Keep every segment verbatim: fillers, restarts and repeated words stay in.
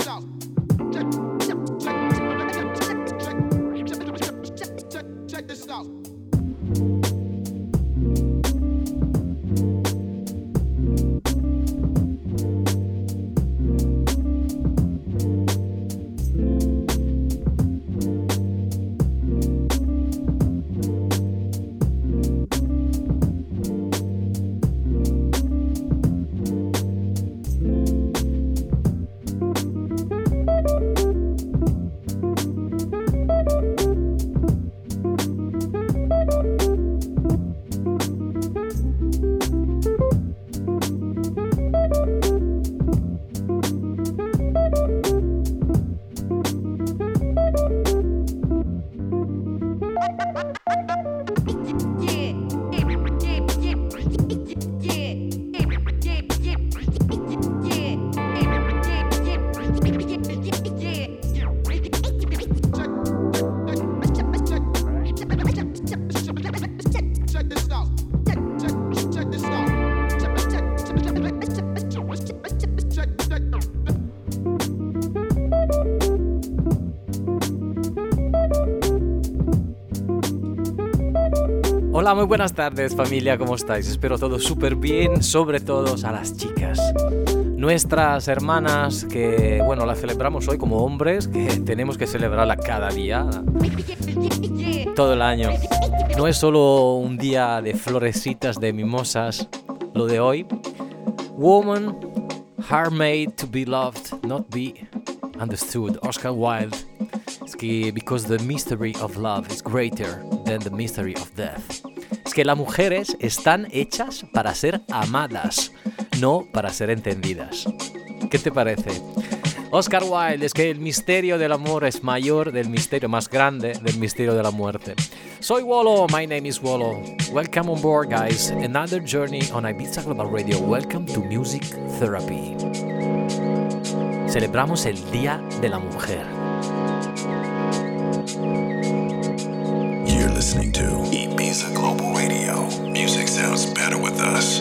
Hola, muy buenas tardes familia, ¿cómo estáis? Espero todo súper bien, sobre todo a las chicas. Nuestras hermanas que, bueno, las celebramos hoy como hombres, que tenemos que celebrarla cada día, todo el año. No es solo un día de florecitas, de mimosas, lo de hoy. Woman, heart made to be loved, not be understood. Oscar Wilde. Es que, because the mystery of love is greater than the mystery of death. Es que las mujeres están hechas para ser amadas, no para ser entendidas. ¿Qué te parece? Oscar Wilde, es que el misterio del amor es mayor del misterio más grande del misterio de la muerte. Soy Wolo, my name is Wolo. Welcome on board, guys. Another journey on Ibiza Global Radio. Welcome to Music Therapy. Celebramos el Día de la Mujer. You're listening to Ibiza Global Radio. Music sounds better with us.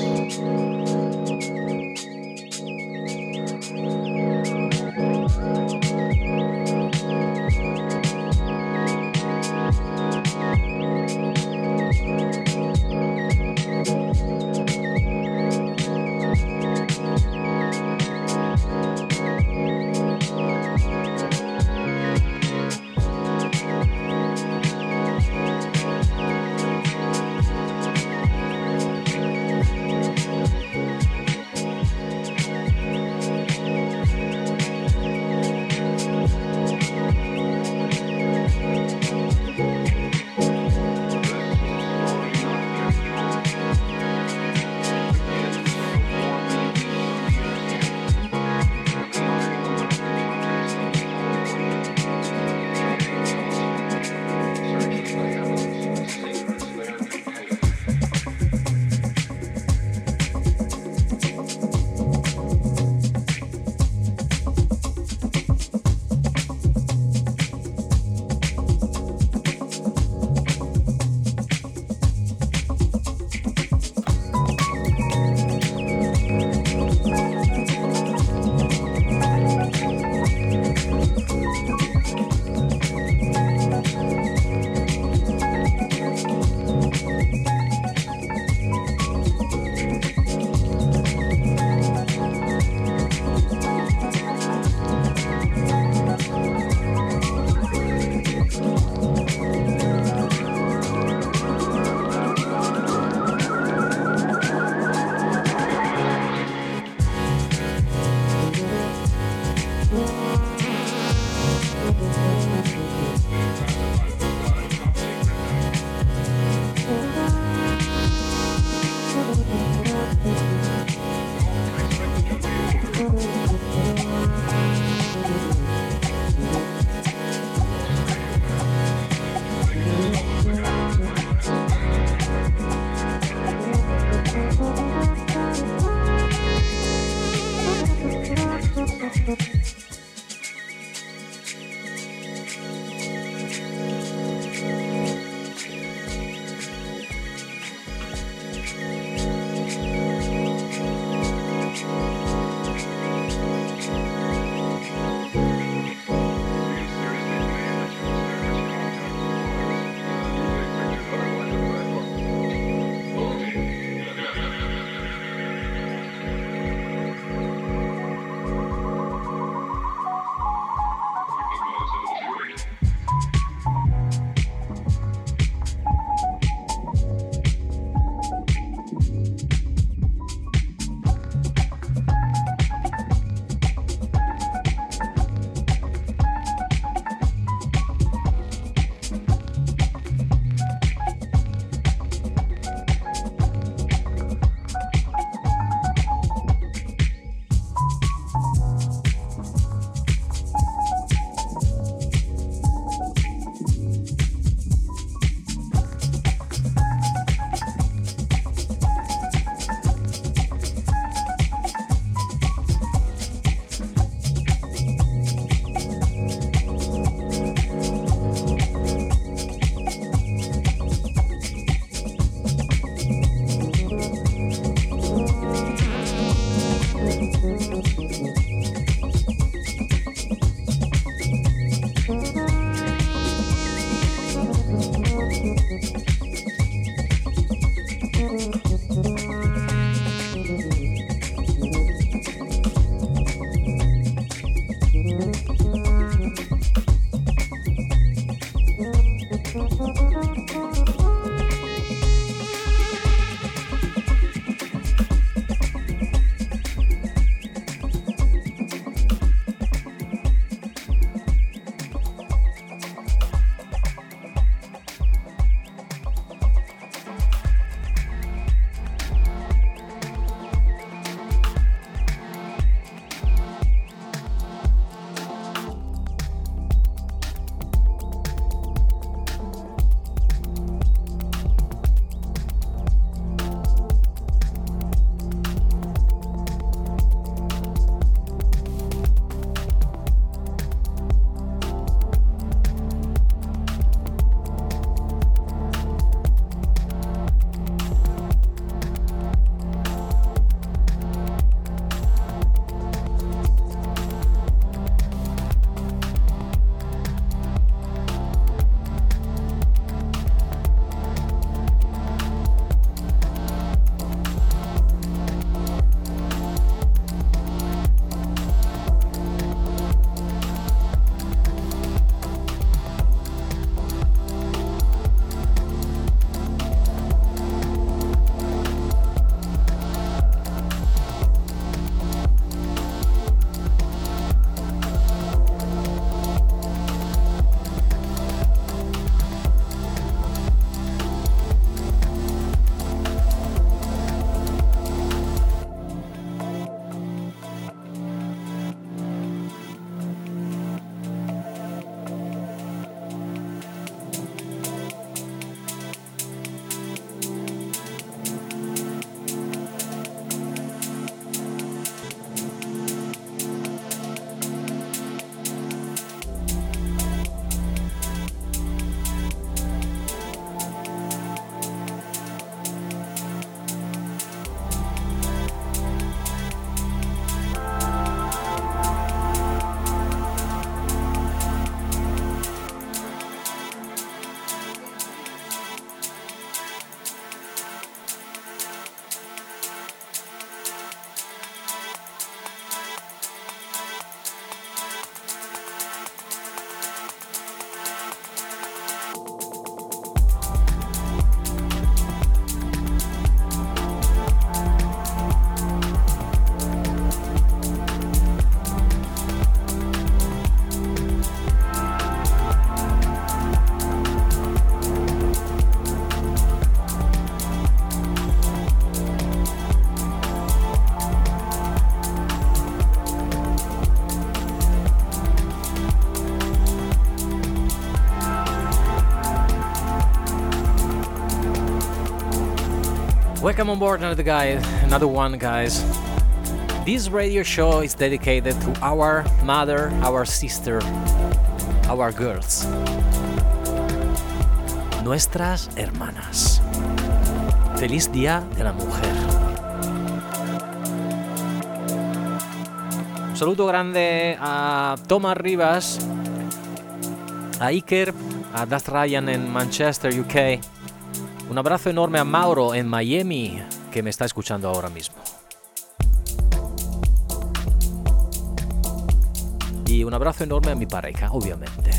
Welcome on board another guy, another one, guys. This radio show is dedicated to our mother, our sister, our girls. Nuestras hermanas. Feliz Día de la Mujer. Un saludo grande a Thomas Rivas, a Iker, a Das Ryan en Manchester, U K. Un abrazo enorme a Mauro en Miami, que me está escuchando ahora mismo. Y un abrazo enorme a mi pareja, obviamente.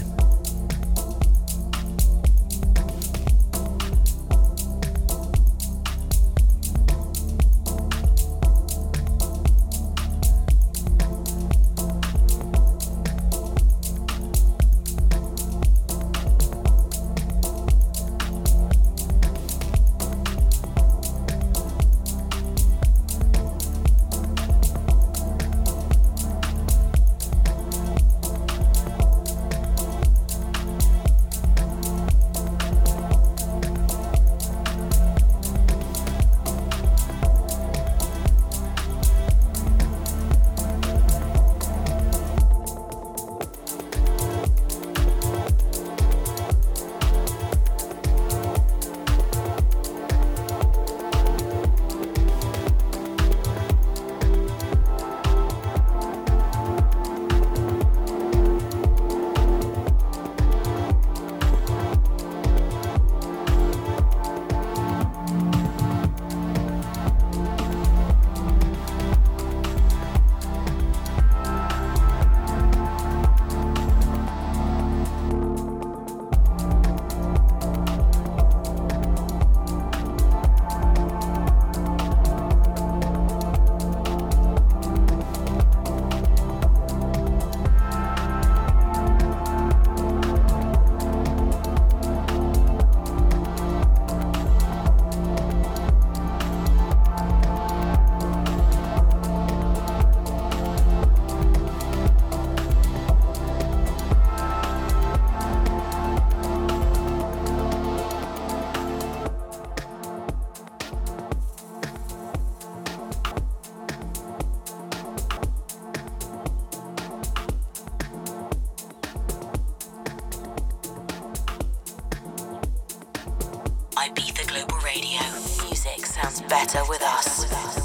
Ibiza Global Radio. Music sounds better with us.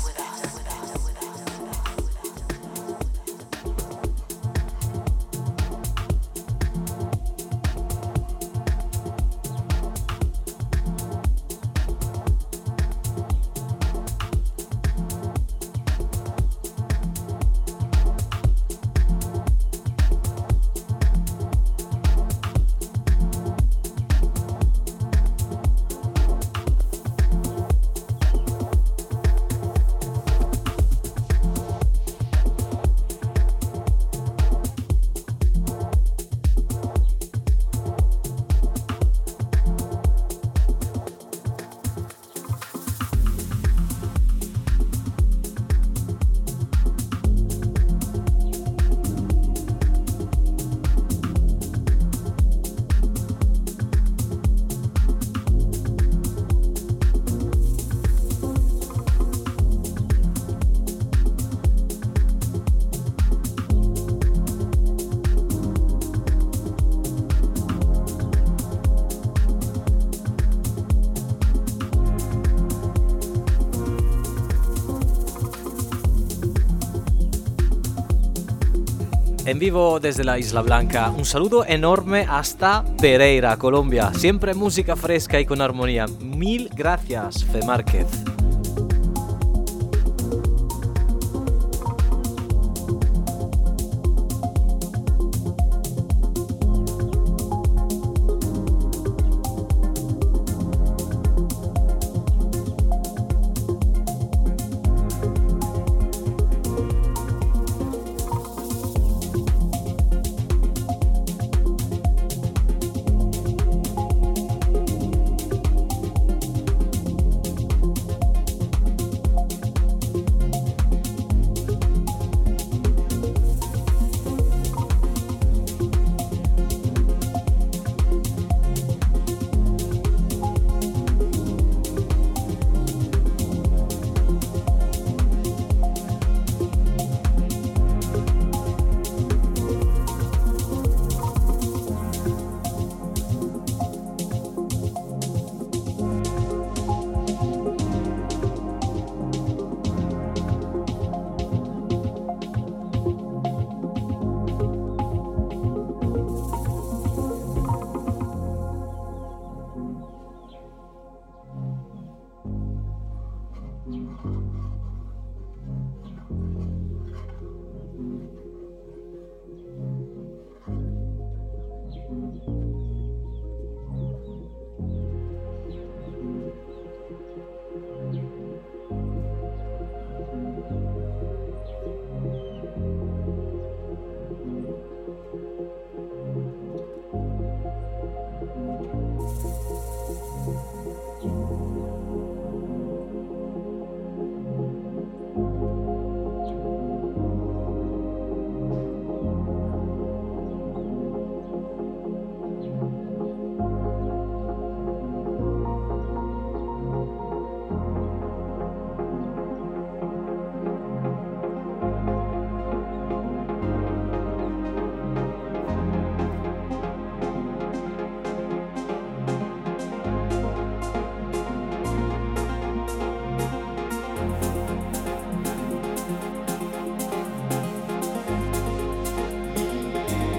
En vivo desde la Isla Blanca, un saludo enorme hasta Pereira, Colombia. Siempre música fresca y con armonía. Mil gracias, Fe Márquez.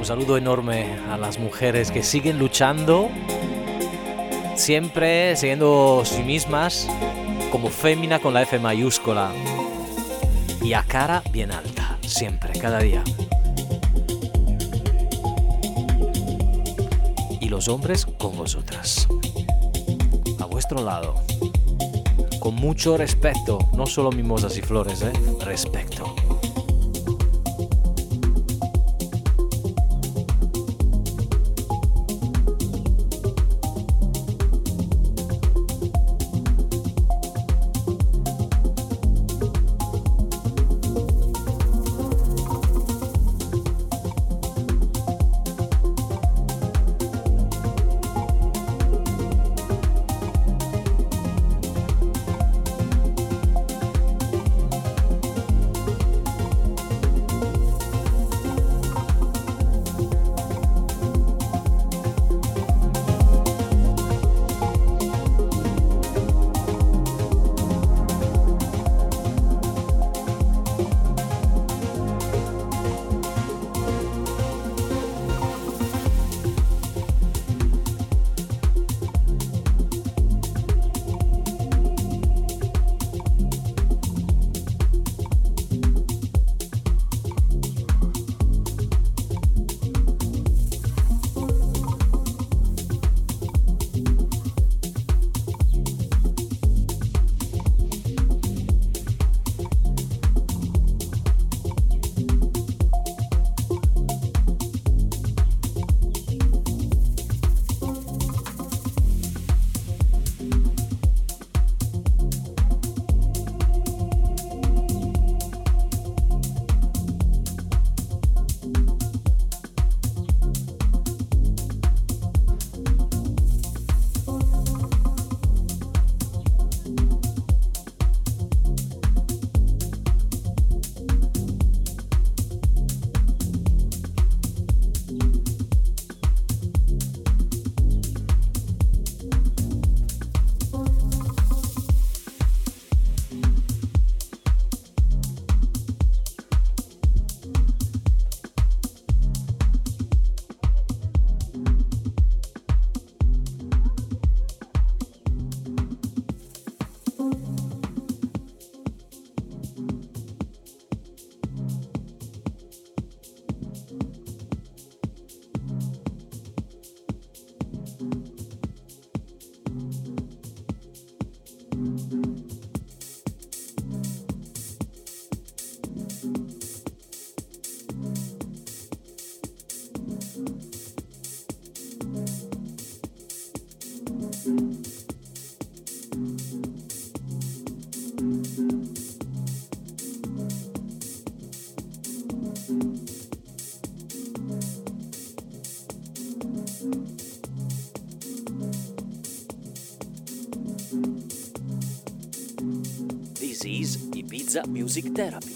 Un saludo enorme a las mujeres que siguen luchando, siempre siendo sí mismas, como fémina con la F mayúscula y a cara bien alta, siempre, cada día. Y los hombres con vosotras, a vuestro lado, con mucho respeto, no solo mimosas y flores, ¿eh? Respeto. This is Ibiza Music Therapy.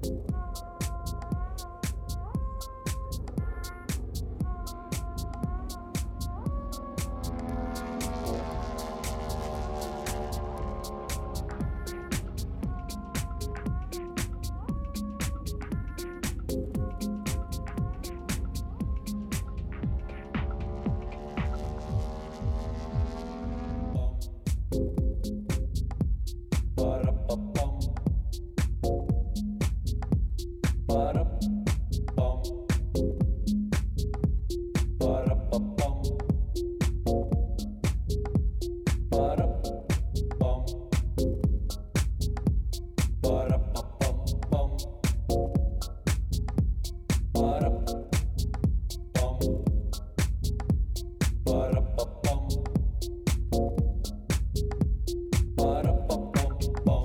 Bum.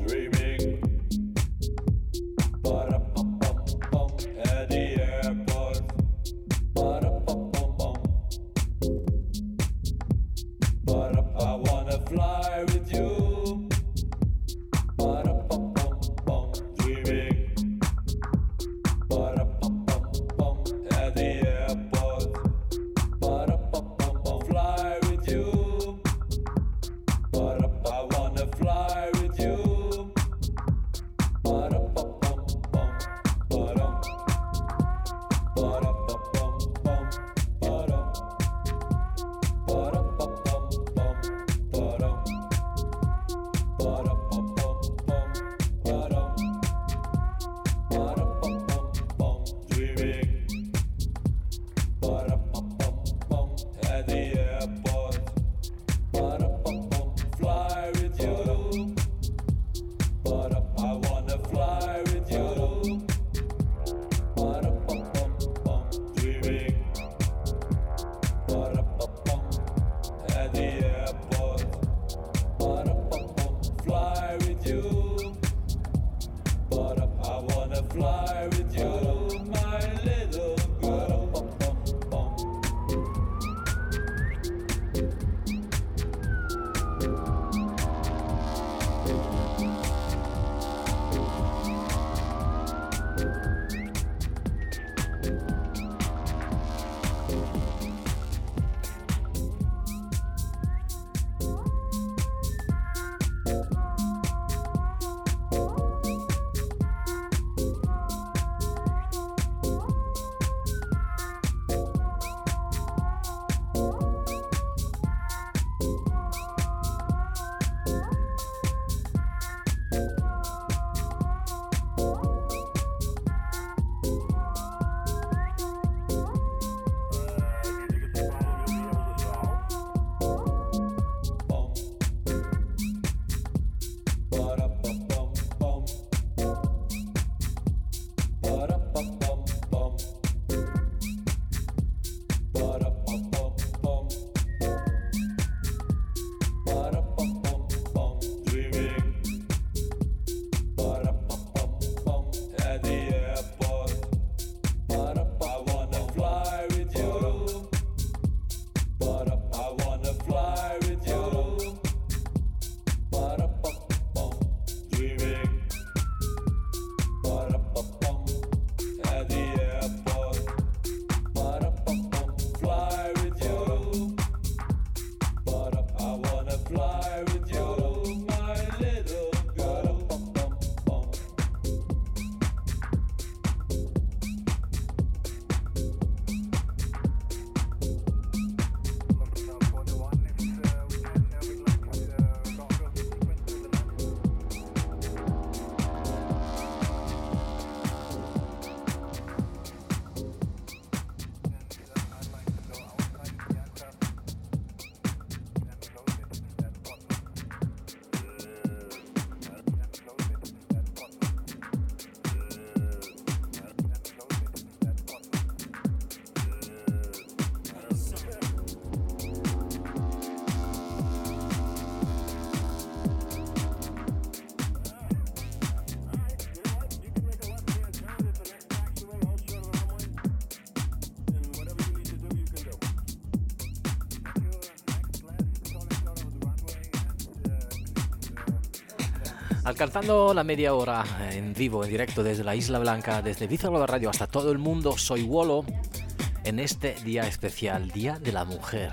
Alcanzando la media hora en vivo, en directo desde la Isla Blanca, desde Ibiza Global Radio hasta todo el mundo, soy Wolo en este día especial, Día de la Mujer.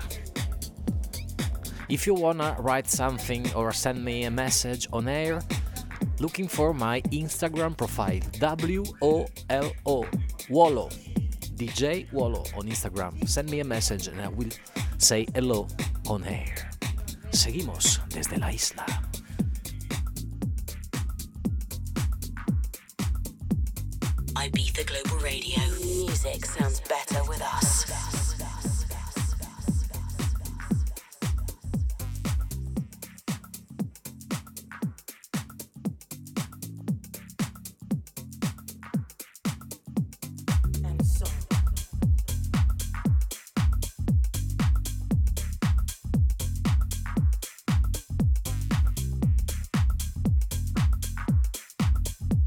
If you wanna write something or send me a message on air, looking for my Instagram profile, W O L O, Wolo, D J Wolo on Instagram. Send me a message and I will say hello on air. Seguimos desde la isla. Ibiza Global Radio. Music sounds better with us.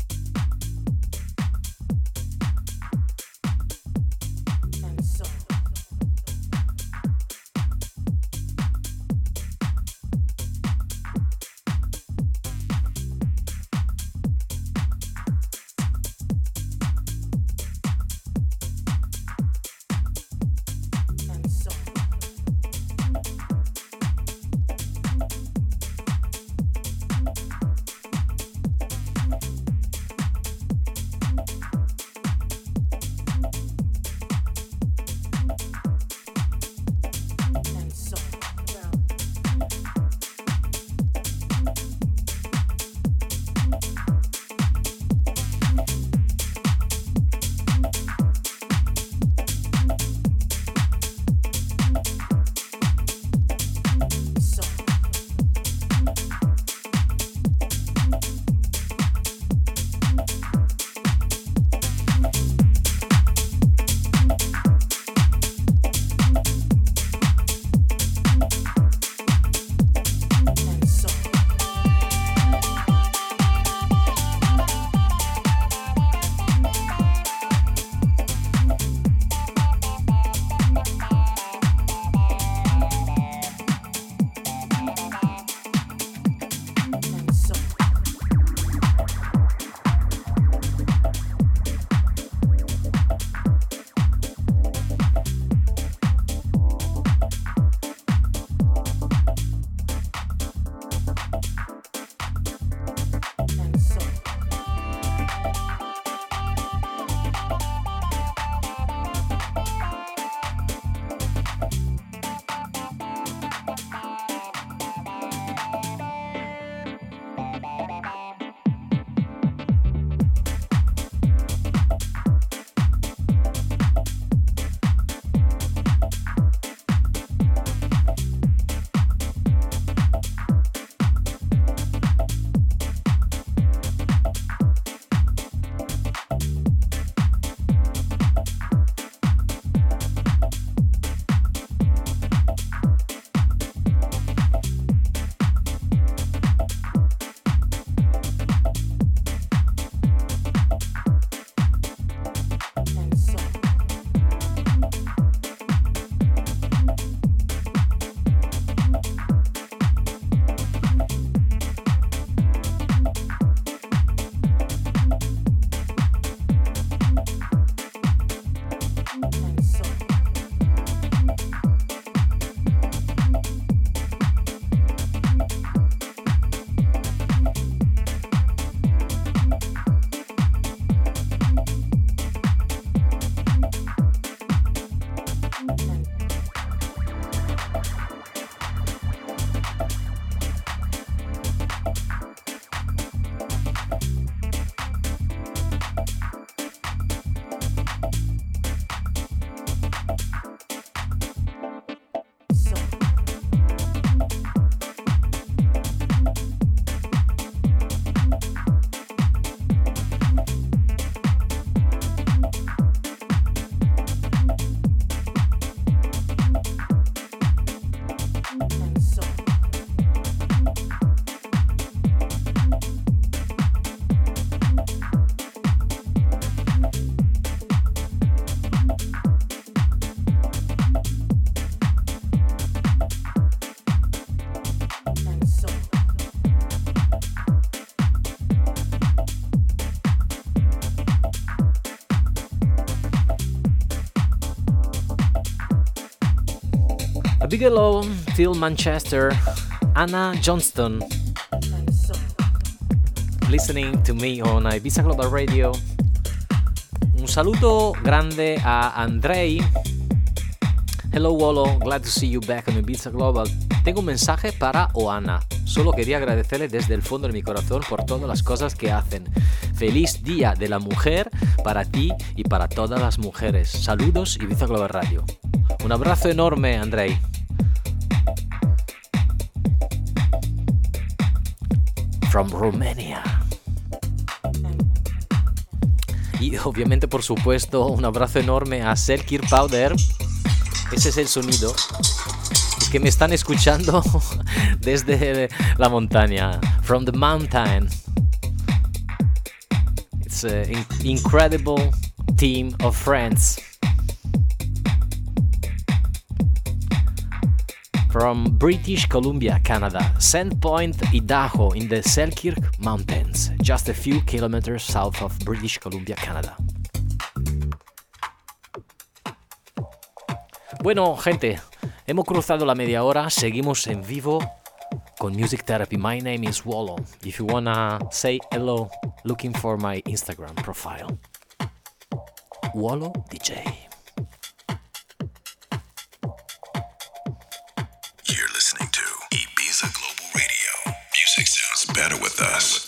And so big hello till Manchester, Anna Johnston, listening to me on Ibiza Global Radio. Un saluto grande a Andrei. Hello Wolo, glad to see you back on Ibiza Global. Tengo un mensaje para Oana. Solo quería agradecerle desde el fondo de mi corazón por todas las cosas que hacen. Feliz Día de la Mujer para ti y para todas las mujeres. Saludos, Ibiza Global Radio. Un abrazo enorme, Andrei. From Romania. Y obviamente, por supuesto, un abrazo enorme a Selkir Powder. Ese es el sonido. Es que me están escuchando desde la montaña. From the mountain. It's an incredible team of friends. From British Columbia, Canada, Sandpoint, Idaho, in the Selkirk Mountains, just a few kilometers south of British Columbia, Canada. Bueno, gente, hemos cruzado la media hora, seguimos en vivo con Music Therapy. My name is Wolo. If you wanna say hello, looking for my Instagram profile. Wolo D J. Music sounds better with us.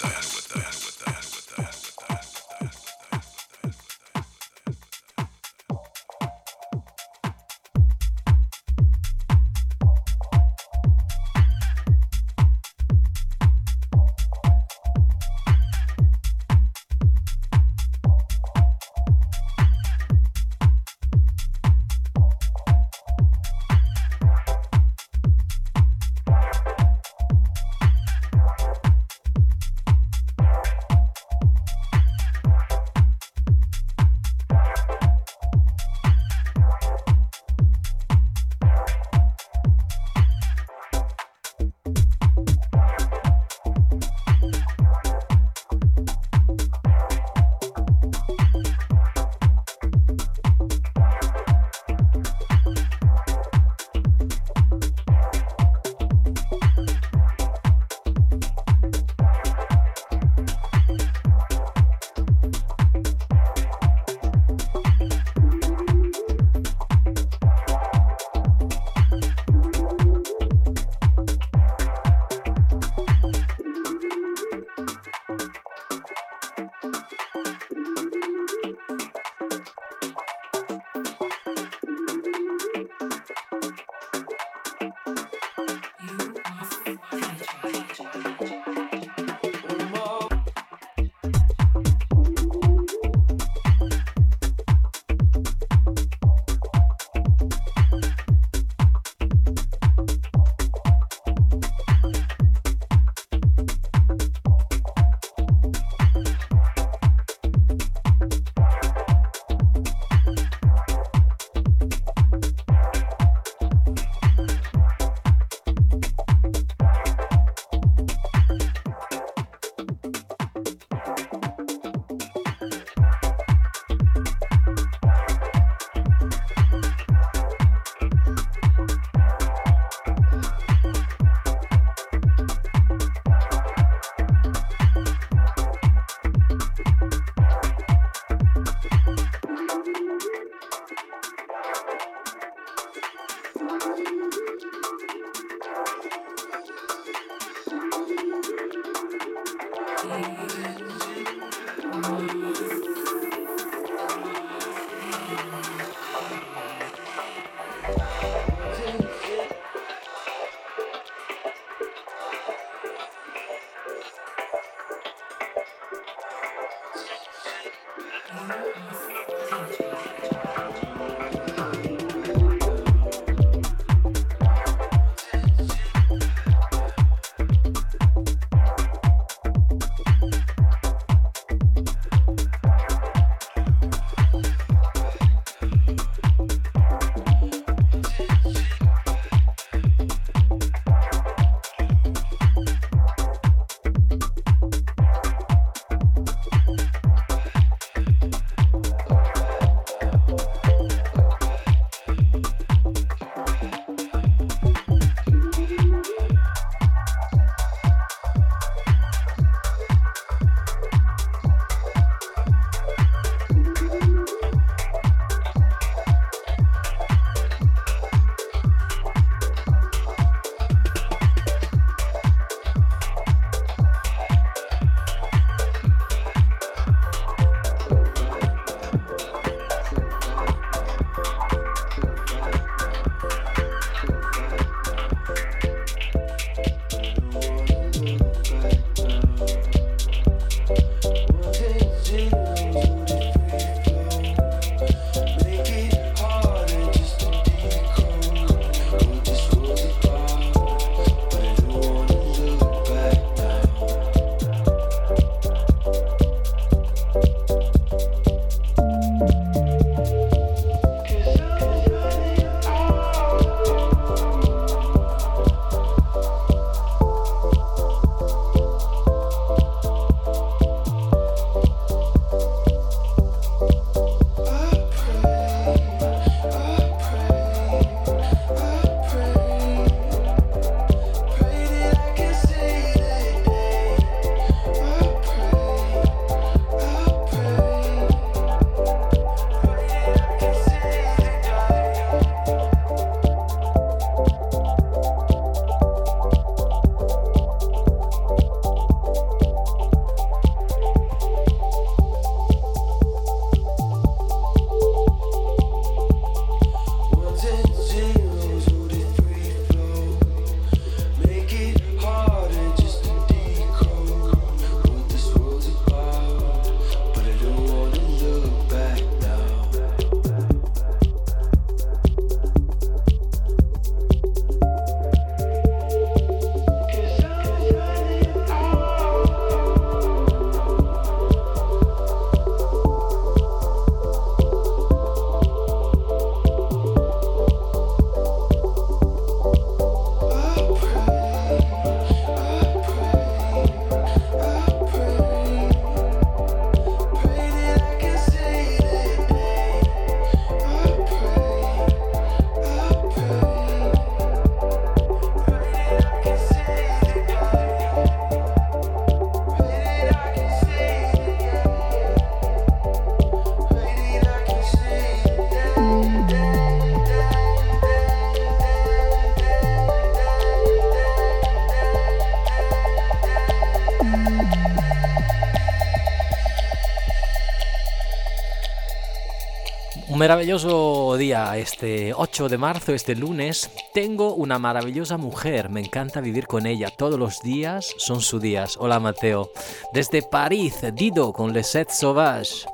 Un maravilloso día, este ocho de marzo, este lunes. Tengo una maravillosa mujer, me encanta vivir con ella. Todos los días son sus días. Hola Mateo. Desde París, Dido con Les Sept Sauvages.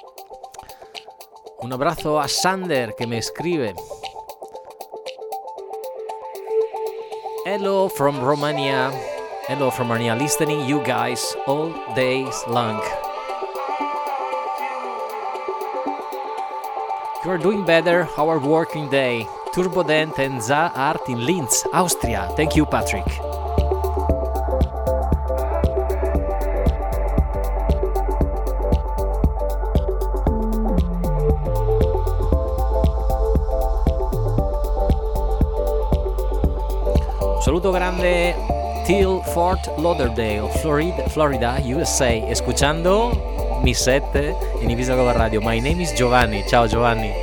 Un abrazo a Sander que me escribe. Hello from Romania. Hello from Romania. Listening you guys all days long. You are doing better our working day. Turbodent and Za Art in Linz, Austria. Thank you, Patrick. Un saluto grande till Fort Lauderdale, Florida, Florida, U S A. Escuchando mi set in Ibiza Global Radio. My name is Giovanni. Ciao Giovanni.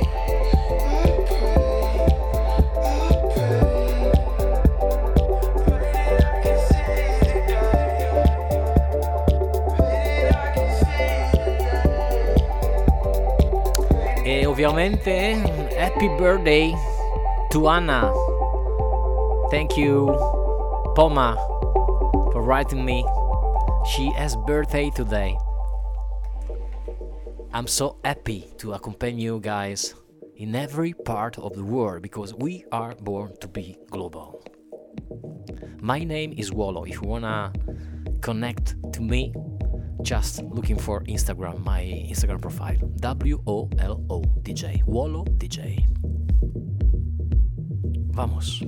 E ovviamente happy birthday to Anna. Thank you Poma for writing me. She has birthday today. I'm so happy to accompany you guys in every part of the world because we are born to be global. My name is Wolo. If you wanna connect to me, just looking for Instagram, my Instagram profile, W O L O D J, Wolo D J. Vamos.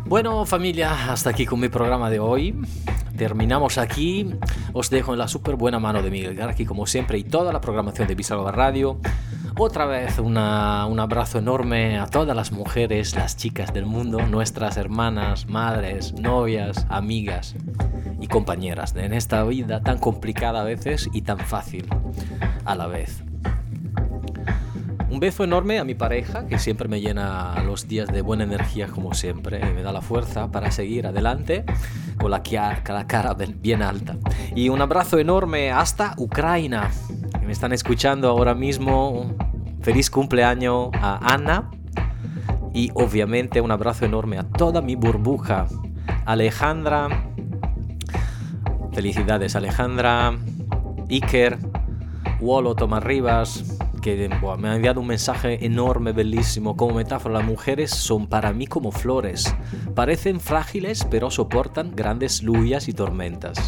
Bueno, familia, hasta aquí con mi programa de hoy. Terminamos aquí. Os dejo en la súper buena mano de Miguel Garqui, como siempre, y toda la programación de Ibiza Global Radio. Otra vez una, un abrazo enorme a todas las mujeres, las chicas del mundo, nuestras hermanas, madres, novias, amigas y compañeras en esta vida tan complicada a veces y tan fácil a la vez. Un beso enorme a mi pareja, que siempre me llena los días de buena energía como siempre y me da la fuerza para seguir adelante con la, con la cara bien alta. Y un abrazo enorme hasta Ucrania, que me están escuchando ahora mismo. Feliz cumpleaños a Ana y obviamente un abrazo enorme a toda mi burbuja. Alejandra, felicidades Alejandra, Iker, Wolo Tomás Rivas, que bueno, me ha enviado un mensaje enorme, bellísimo. Como metáfora, las mujeres son para mí como flores. Parecen frágiles, pero soportan grandes lluvias y tormentas.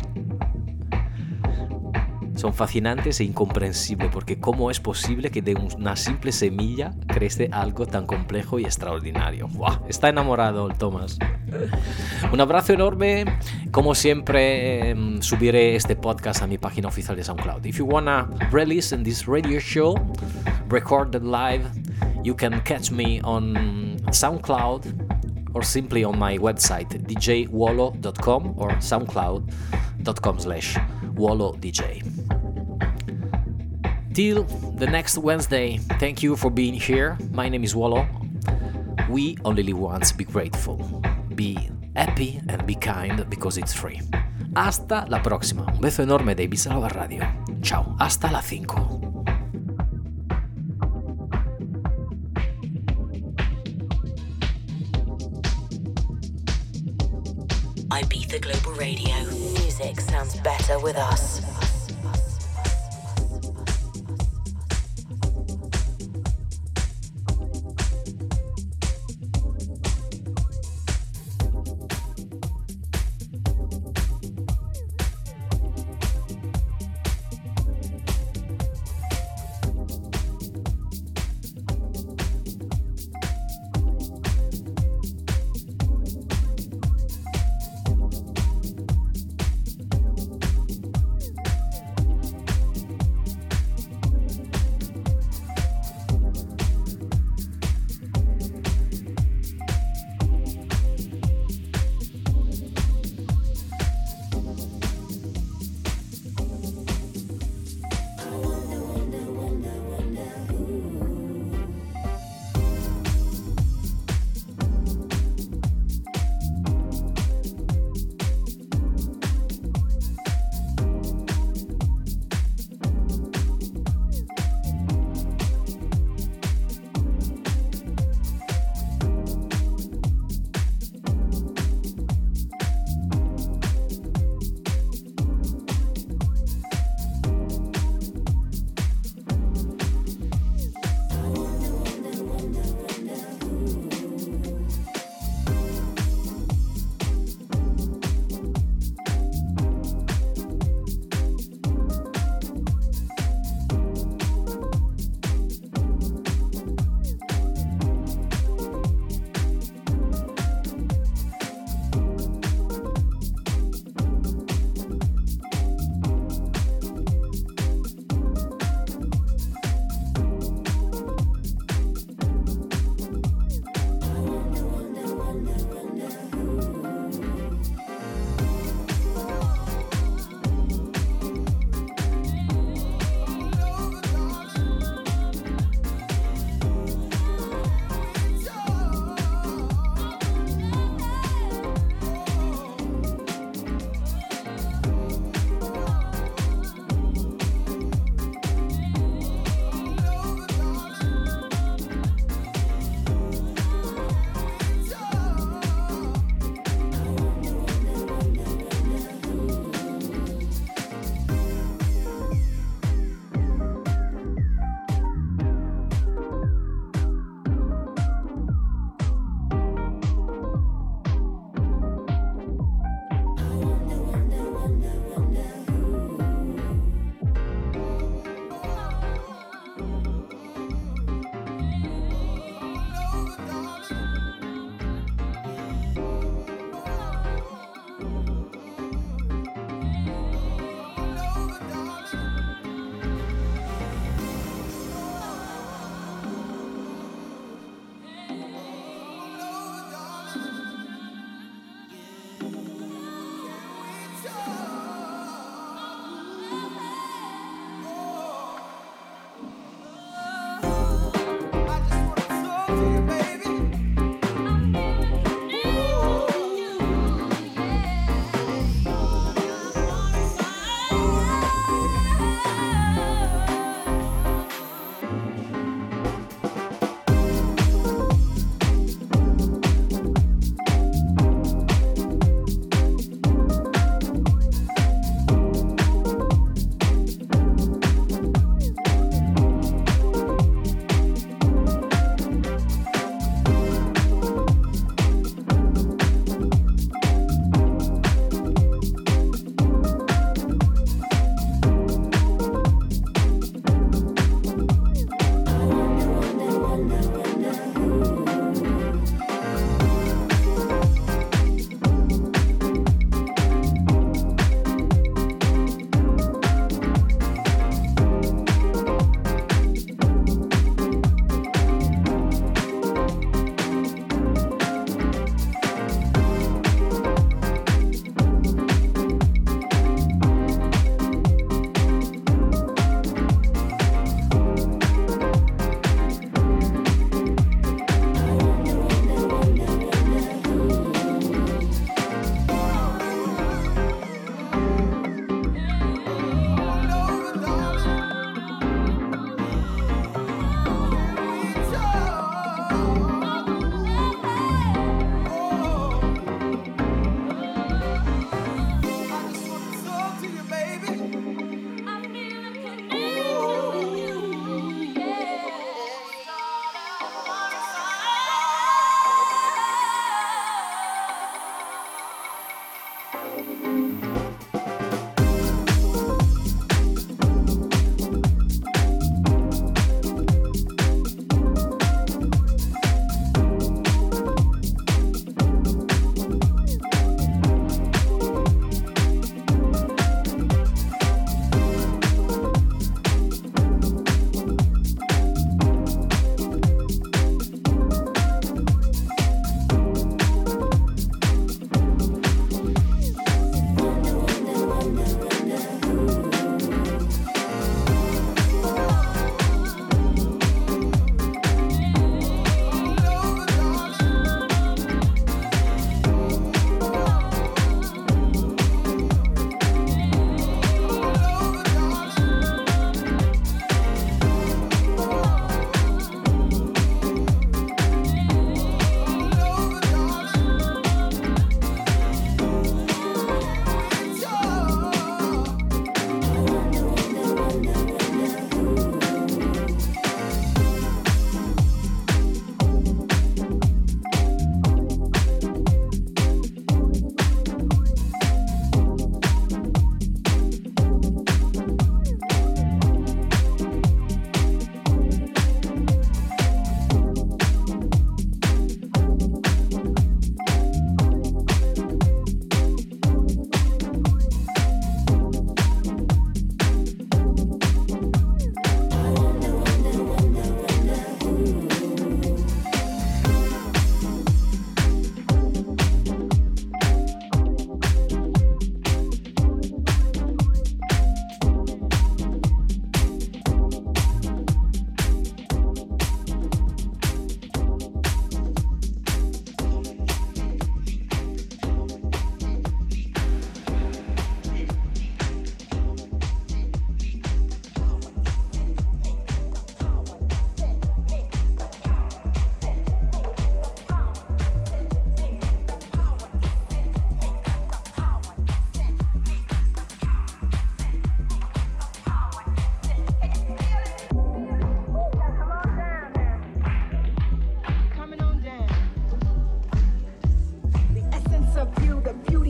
Son fascinantes e incomprensibles, porque cómo es posible que de una simple semilla crece algo tan complejo y extraordinario. ¡Wow! Está enamorado el Tomás. Un abrazo enorme. Como siempre, eh, subiré este podcast a mi página oficial de SoundCloud. If you wanna release in this radio show, recorded live, you can catch me on SoundCloud or simply on my website d j wolo dot com or soundcloud dot com slash wolo d j. Till the next Wednesday, thank you for being here. My name is Wolo. We only live once. Be grateful, be happy and be kind because it's free. Hasta la próxima. Un beso enorme de Ibiza Global Radio. Ciao, hasta las cinco. Ibiza Global Radio. Music sounds better with us.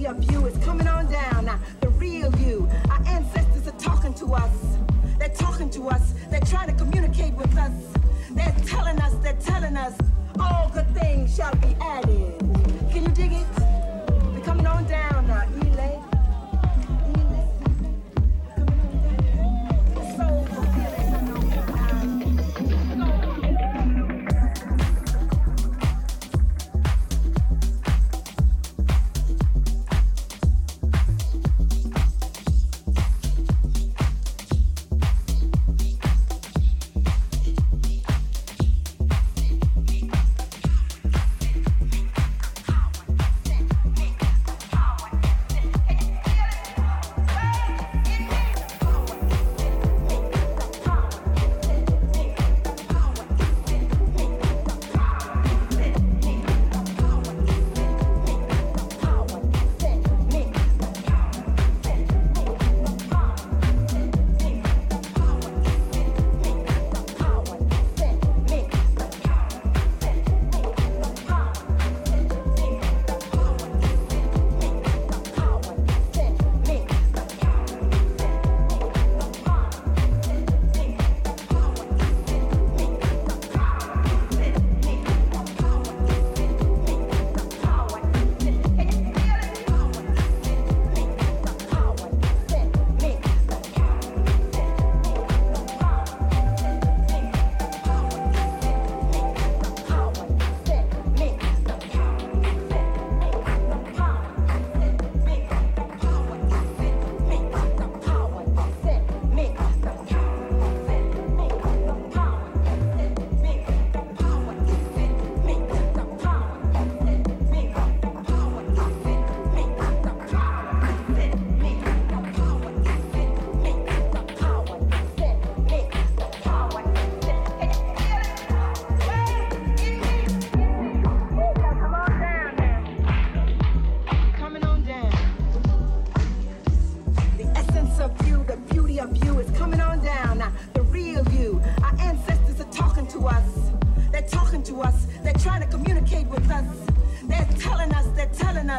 beauty of you is coming on down. Now, the real you. Our ancestors are talking to us. They're talking to us. They're trying to communicate with us. They're telling us, they're telling us, all good things shall be added. Can you dig it? We're coming on down now, Elay.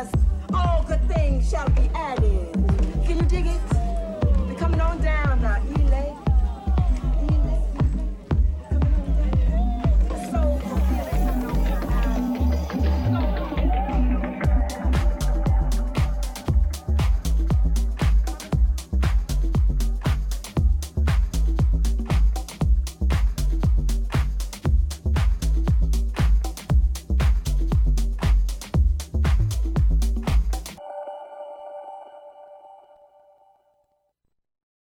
All good things shall be added. Can you dig it? We're coming on down now.